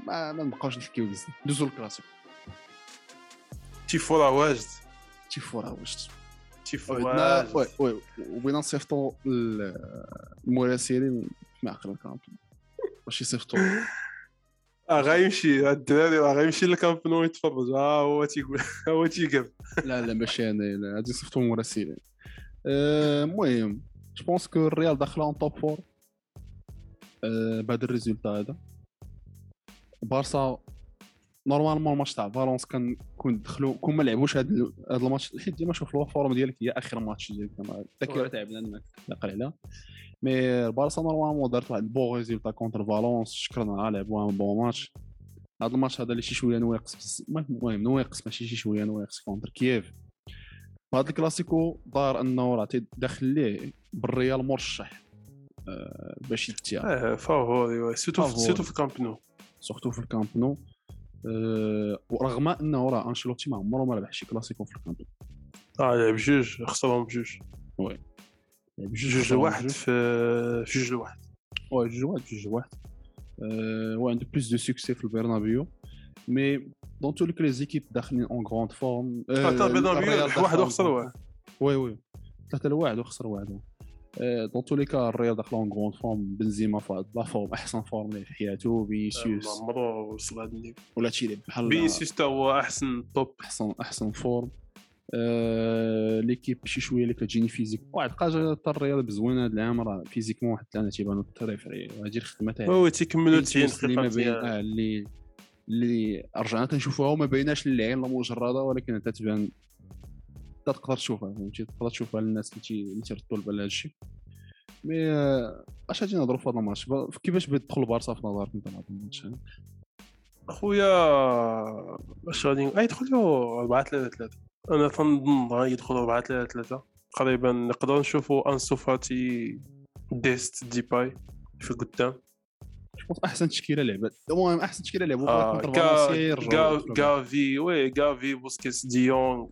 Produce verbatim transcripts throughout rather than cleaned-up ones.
ما ما نبقاوش نحكيو بزاف ندوزو الكلاسيكو. تيفو راه واجد تيفو راه واجد تيفو عندنا وي واجد وي وبغينا نصيفطوا المراسلين في معقل الكامب باش يصيفطوا اه غيمشي الدراري راه غيمشي للكامب نو يتفرج ها هو تيقول هو تيقف. لا لا ماشي انا لا غادي يصيفطوا المراسلين. المهم جو بونس كو الريال داخله اون توب فور بعد الريزولتا هذا. بارسا نورمالمون الماتش تاع فالونس كان كون دخلوا كون ما لعبوش هذا هذا الماتش حيت ديما شوف الفورم ديالك هي اخر ماتش ديالك الذاكره تعبنا انك تنقل عليها. مي بارسا نورمالمون دارت واحد بون ريزولتا كونتر فالونس شكرنا لعبوا ان بون ماتش. هذا الماتش هذا اللي شي شويه نواقص المهم نواقص ماشي شي شويه نواقص كونتر كييف. هذا الكلاسيكو دار انه راه تدخل ليه بالريال مرشح أه باش يتيا اه فافوري سيتو سيتو في الكامب نو سورتو في الكامب نو. أه ورغم انه راه انشيلوتي ما عمره ما ربح شي كلاسيكو في الكامب نو. اه لعب جوج خسرهم بجوج وي جوج واحد في في جوج واحد وي جوج واحد جوج واحد أه وعنده بلوس دو سوكسي في البرنابيو. مي دون تو لي زيكيب داخلين اون غروند فورم. اه تا البرنابيو واحد وخسر واحد وي وي ثلاثة لواحد وخسر واحد. دون تو لي كا الريال داخل اون غروند فورم. بنزيما فهاد لا فورم احسن فورم ليه في حياته. فينيسيوس عمرو وصل هذا النيفو ولا تيلعب بحال فينيسيوس تا هو احسن توب احسن احسن فورم. أه... ليكيب شي شويه اللي كتجيني فيزيك واحد حاجه تاع الريال بزوينه هذا العام راه فيزيكمون واحد الثلاثه تيبانوا التريفري وهذه الخدمه تاعي هو تيكملوا تسعين اللي ما بين دقيقه اه اللي اللي رجعنا تنشوفوها وما بيناش للعين لا مجرده ولكن تتبان تقدر تشوفها فهمتي تقدر تشوفها للناس اللي اللي تيردوا البال هذا الشيء. مي اش غادي نهضروا في هذا الماتش كيفاش بيدخل بارسا في نظرك انت هذا الماتش اخويا واش غادي يدخلوا أربعة ثلاثة ثلاثة. انا تنظن غيدخلوا أربعة ثلاثة ثلاثة قريبا نقدروا نشوفوا انسو فاتي ديست ديباي في قدام. شوف احسن تشكيله لعبت المهم احسن تشكيله لعبوا آه كونتر فالنسيا غا غافي وي غافي بوسكيتس ديونغ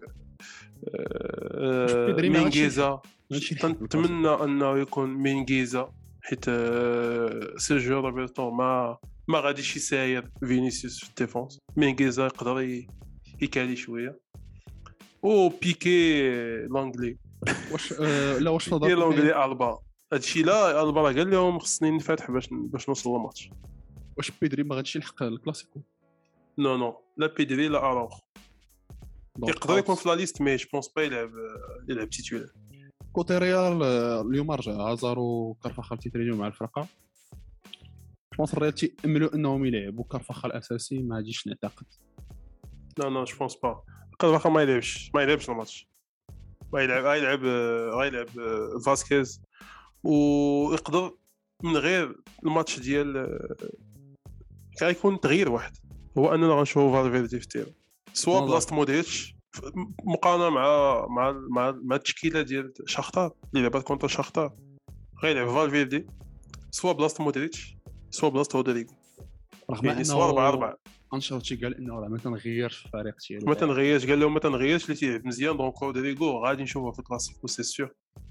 آه مينغيزا. نتمنى انه يكون مينغيزا حيت آه سيرجيو روبرتو ما ما غاديش يساير فينيسيوس في الديفونس. مينغيزا يقدر يكالي شويه او بيكي لونغلي واش آه لا واش نظر لونغلي البا هادشي لا البا قال لهم خصني نفتح باش باش نوصل للماتش. واش بيدري ما غاديش يلحق الكلاسيكو؟ نو نو لا بيدري لا اروخ يقدر يكون في لا ليست مي جو بونس با يلعب يلعب تيتولار. كوتي ريال اليوم رجع هازار وكارفاخال تيترينيو مع الفرقه. بونس الريال تيأملوا انهم يلعبوا كارفاخال اساسي ما غاديش نعتقد. لا لا جو بونس با كارفاخال ما يلعبش ما يلعبش الماتش ما يلعب غيلعب غيلعب فاسكيز ويقدر من غير الماتش ديال غيكون تغيير واحد هو اننا غنشوفو فالفيردي في التيرو سوا بلاصه مودريتش مقارنه مع مع مع, مع التشكيله ديال شاختار اللي لعبات كونتر شاختار. غيلعب فالفيردي سوا بلاصه مودريتش سوا بلاصه رودريغو رغم يعني سوا أربعة أربعة. انشيلوتي قال انه راه ما تنغيرش الفريق ديالو ما تنغيرش قال لهم ما تنغيرش اللي تيلعب مزيان دونك رودريغو غادي نشوفه في الكلاسيكو سي سيور.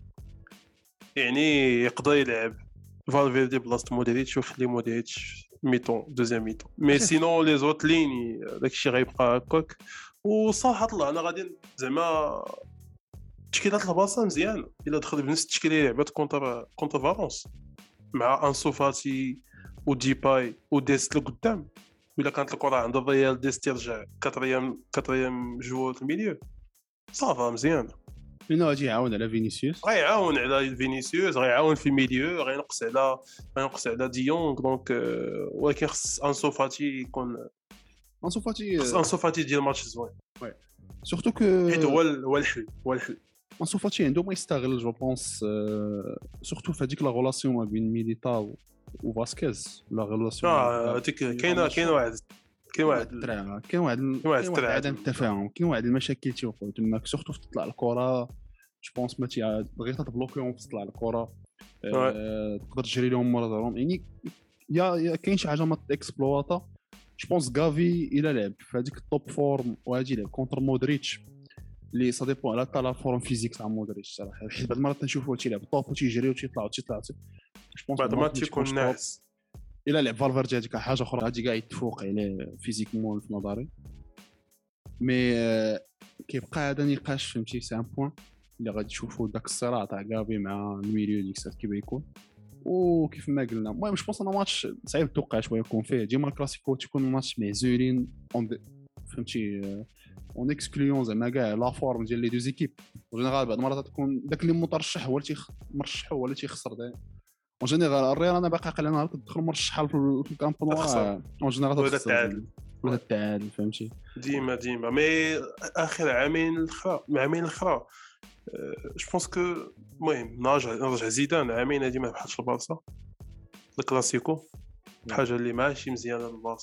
يعني يقدر يلعب فالفيردي بلاصه مودريتش ويخلي مودريتش ميتون دوزيام ميتون مي سينون لي زوت لين داكشي غيبقى هكاك. وصراحه طلع انا غادي زعما تشكيلات البارسا مزيان الا دخل بنفس التشكيله اللي لعبات كونتر كونتر فالونس مع انسو فاتي وديباي وديست لقدام. ولا كانت الكره عند الريال ديست يرجع كاتريام كاتريام جوور في الميليو صافا مزيان لانه غادي يعاون على فينيسيوس غيعاون على فينيسيوس غيعاون في الميليو غينقص على غينقص على ديونغ دونك ولكن خص انسو فاتي يكون انسو فاتي خص انسو فاتي ديال الماتش زوين وي سورتو كو حيت هو هو الحل هو الحل. انسو فاتي عنده ما يستغل جو بونس سورتو في هذيك لا غولاسيون ما بين ميليتاو وفاسكيز لا غولاسيون اه هذيك كاينه كاين واحد كاين واحد كاين واحد كاين واحد عدم التفاهم كاين واحد المشاكل تيوقعوا تماك سورتو في تطلع الكره جو بونس ما تي بغيت تبلوكيهم في تطلع الكره تقدر تجري لهم مرة دارهم يعني يا كاين شي حاجه ما تاكسبلواطا. جو بونس غافي الى لعب في هذيك التوب فورم وهادي لعب كونتر مودريتش اللي سا ديبون على تاع لا فورم فيزيك تاع مودريتش صراحه حيت بعض المرات تنشوفوا تيلعب طوب وتيجري وتيطلع وتيطلع جو بونس بعد ما تيكون ناعس الا لعب فالفيردي هذيك حاجه اخرى غادي كاع يتفوق عليه فيزيكمون في نظري. مي كيبقى هذا نقاش فهمتي سي ان بوين اللي غادي تشوفوا داك الصراع تاع غافي مع الميليو ديك الساعه كيف يكون. وكيف ما قلنا المهم جو بونس انا ماتش صعيب توقع شويه يكون فيه ديما الكلاسيكو تكون ماتش معزولين فهمتي اون اكسكليون زعما كاع لا فورم ديال لي دو زيكيب. وجينيرال بعض المرات تكون داك اللي مترشح هو اللي تيمرشح هو اللي تيخسر داك. وجينيرال الريال انا باقي عاقل انا كتدخل مرشح في الكامب نو وجينيرال هذا التعادل ولا التعادل فهمتي ديما ديما مي اخر عامين الاخرى عامين الاخرى جو بونس كو المهم نرجع نرجع زيدان عامين هادي ما بحالش البارسا الكلاسيكو حاجه اللي ماشي مزيانه للبارسا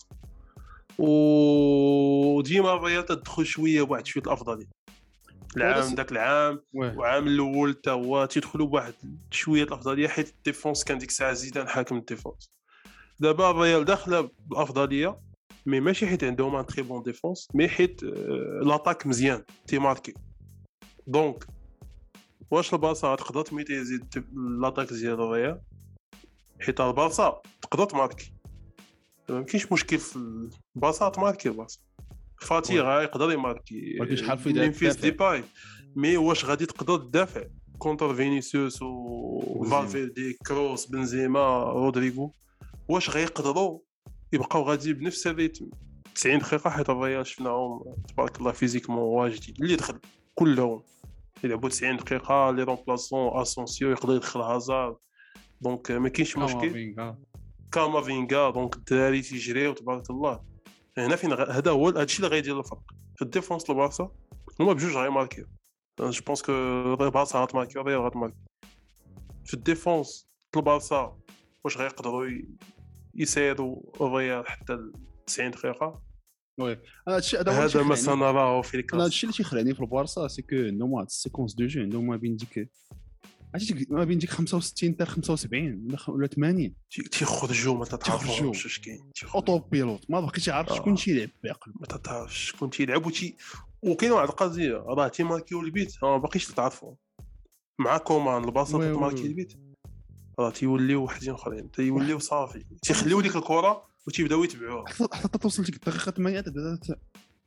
وديما الريال تدخل شويه بواحد شويه الافضليه العام داك العام وعام الاول حتى هو تيدخلوا بواحد شويه الافضليه حيت الديفونس كان ديك الساعه زيدان حاكم الديفونس. دابا الريال داخله بالافضليه مي ماشي حيت عندهم ان تري بون ديفونس مي حيت لاطاك مزيان تي ماركي. دونك واش البارسا تقدر تميتي يزيد لاطاك ديال الريال حيت البارسا تقدر تماركي ما كاينش مشكل في البارسا تماركي. البارسا فاتي غا يقدر يماركي ولكن شحال في ممفيس ديباي مي واش غادي تقدر تدافع كونتر فينيسيوس و فالفيردي كروس بنزيما رودريغو واش غيقدروا يبقاو غادي بنفس الريتم تسعين دقيقه حيت الريال شفناهم تبارك الله فيزيكمون واجدين اللي دخل كلهم يلعبوا تسعين دقيقه لي رومبلاسون اسونسيو يقدر يدخل هازارد. دونك ما كاينش مشكل كامافينغا دونك الدراري تيجريو تبارك الله. هنا فين هذا هو هادشي اللي غيدير الفرق في الديفونس. البارسا هما بجوج غيماركيو جو بونس كو البارسا غتماركي الريال غتماركي في الديفونس. البارسا واش غيقدروا يسيروا الريال حتى تسعين دقيقه وي انا هادشي هذا هذا ما سنراه في الكلاس. انا هادشي اللي تيخلعني في البارسا سي كو نو سيكونس دو جو عندهم ما بين ديك عرفتي ما بين ديك خمسة وستين حتى خمسة وسبعين ولا ثمانين تيخرجوا ما تعرفوش واش كاين اوتو بيلوت ما بقيتش عارف شكون تيلعب باقي ما تعرفش شكون تيلعب وتي وكاين واحد القضيه راه تيماركيو البيت ما باقيش تعرفوا مع كومان البارسا تماركي البيت راه تيوليو وحدين اخرين تيوليو صافي تيخليو ديك الكره وتيبداو يتبعوها حتى توصل ديك الدقيقه ثمانية بدات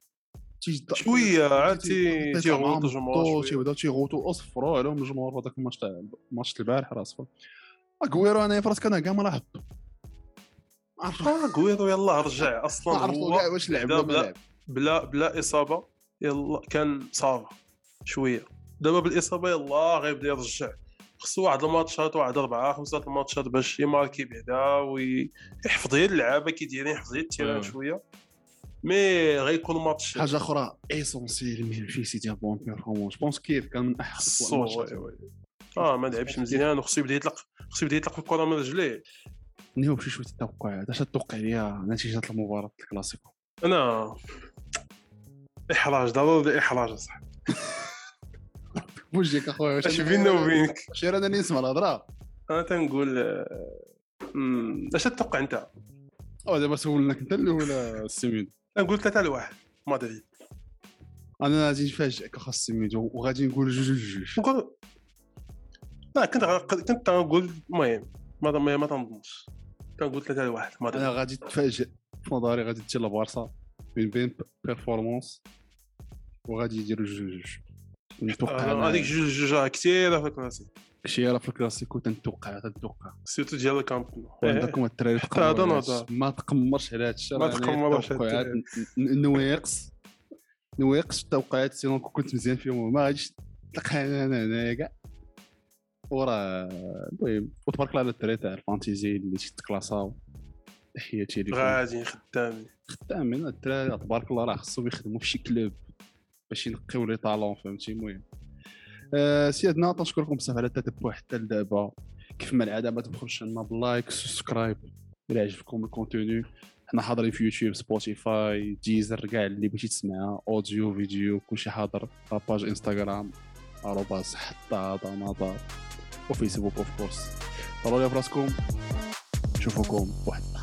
شويه عاد تيغوتو الجمهور تيبداو تيغوتو اصفروا عليهم الجمهور هذاك الماتش تاع ماتش البارح راه صفر. اغويرو انا فراسك انا كاع ما لاحظتو عرفت اغويرو يلاه رجع اصلا هو كاع واش لعب بلا بلا بلا اصابه يلا كان صافي شويه. دابا بالاصابه يلاه غيبدا يرجع خصو واحد الماتشات واحد أربعة خمسة الماتشات باش يماركي بعدا ويحفظ غير اللعابه كي دايرين يحفظ غير التيران شويه مي غيكون ماتش. حاجه اخرى ايسونسيال من في سيتي بون بيرفورمانس بونس كيف كان من احسن الماتشات اه ما لعبش مزيان وخصو يبدا يطلق خصو يبدا يطلق الكره من رجليه. نيو بشي شويه التوقعات اش تتوقع ليا نتيجه المباراه الكلاسيكو؟ انا احراج ضروري احراج صح واش ديك اخويا واش بيننا وبينك شير انا نسمع الهضره انا تنقول اش تتوقع انت؟ او دابا سولناك انت ولا السيميد؟ نقول ثلاثة لواحد مدريد. انا غادي نفاجئك اخا السيميد وغادي نقول جوج جوج نقول لا كنت كنت نقول المهم ما ما ما تنظنش كنقول ثلاثة لواحد مدريد. انا غادي تفاجئ في نظري غادي تجي لبارسا بين بين بيرفورمانس وغادي يديروا جوج جوج. نتوقع هذيك جوج جوج كثيره في الكلاسيكو كثيره في الكلاسيكو تنتوقع تنتوقع سيرتو ديال الكامب نو عندكم الدراري ما تقمرش على هذا الشيء ما تقمرش نواقص نواقص التوقعات سينو كنت مزيان فيهم ما غاديش تلقى انا انا كاع وراه المهم وتبارك الله على الدراري تاع الفانتيزي اللي تيتكلاساو تحياتي ليكم غادي خدامين خدامين الدراري تبارك الله راه خصهم يخدموا في شي كلوب باش ينقيو لي طالون فهمتي. المهم أه سيادنا تنشكركم بزاف على التتبع حتى لدابا كيف ما العاده ما تبخلوش لنا باللايك سبسكرايب الى عجبكم الكونتوني. حنا حاضرين في يوتيوب سبوتيفاي ديزر كاع اللي بغيتي تسمعها اوديو فيديو كلشي حاضر. لاباج انستغرام ارباس حتى هذا نظر وفيسبوك اوف كورس. طلعوا لي فراسكم نشوفكم واحد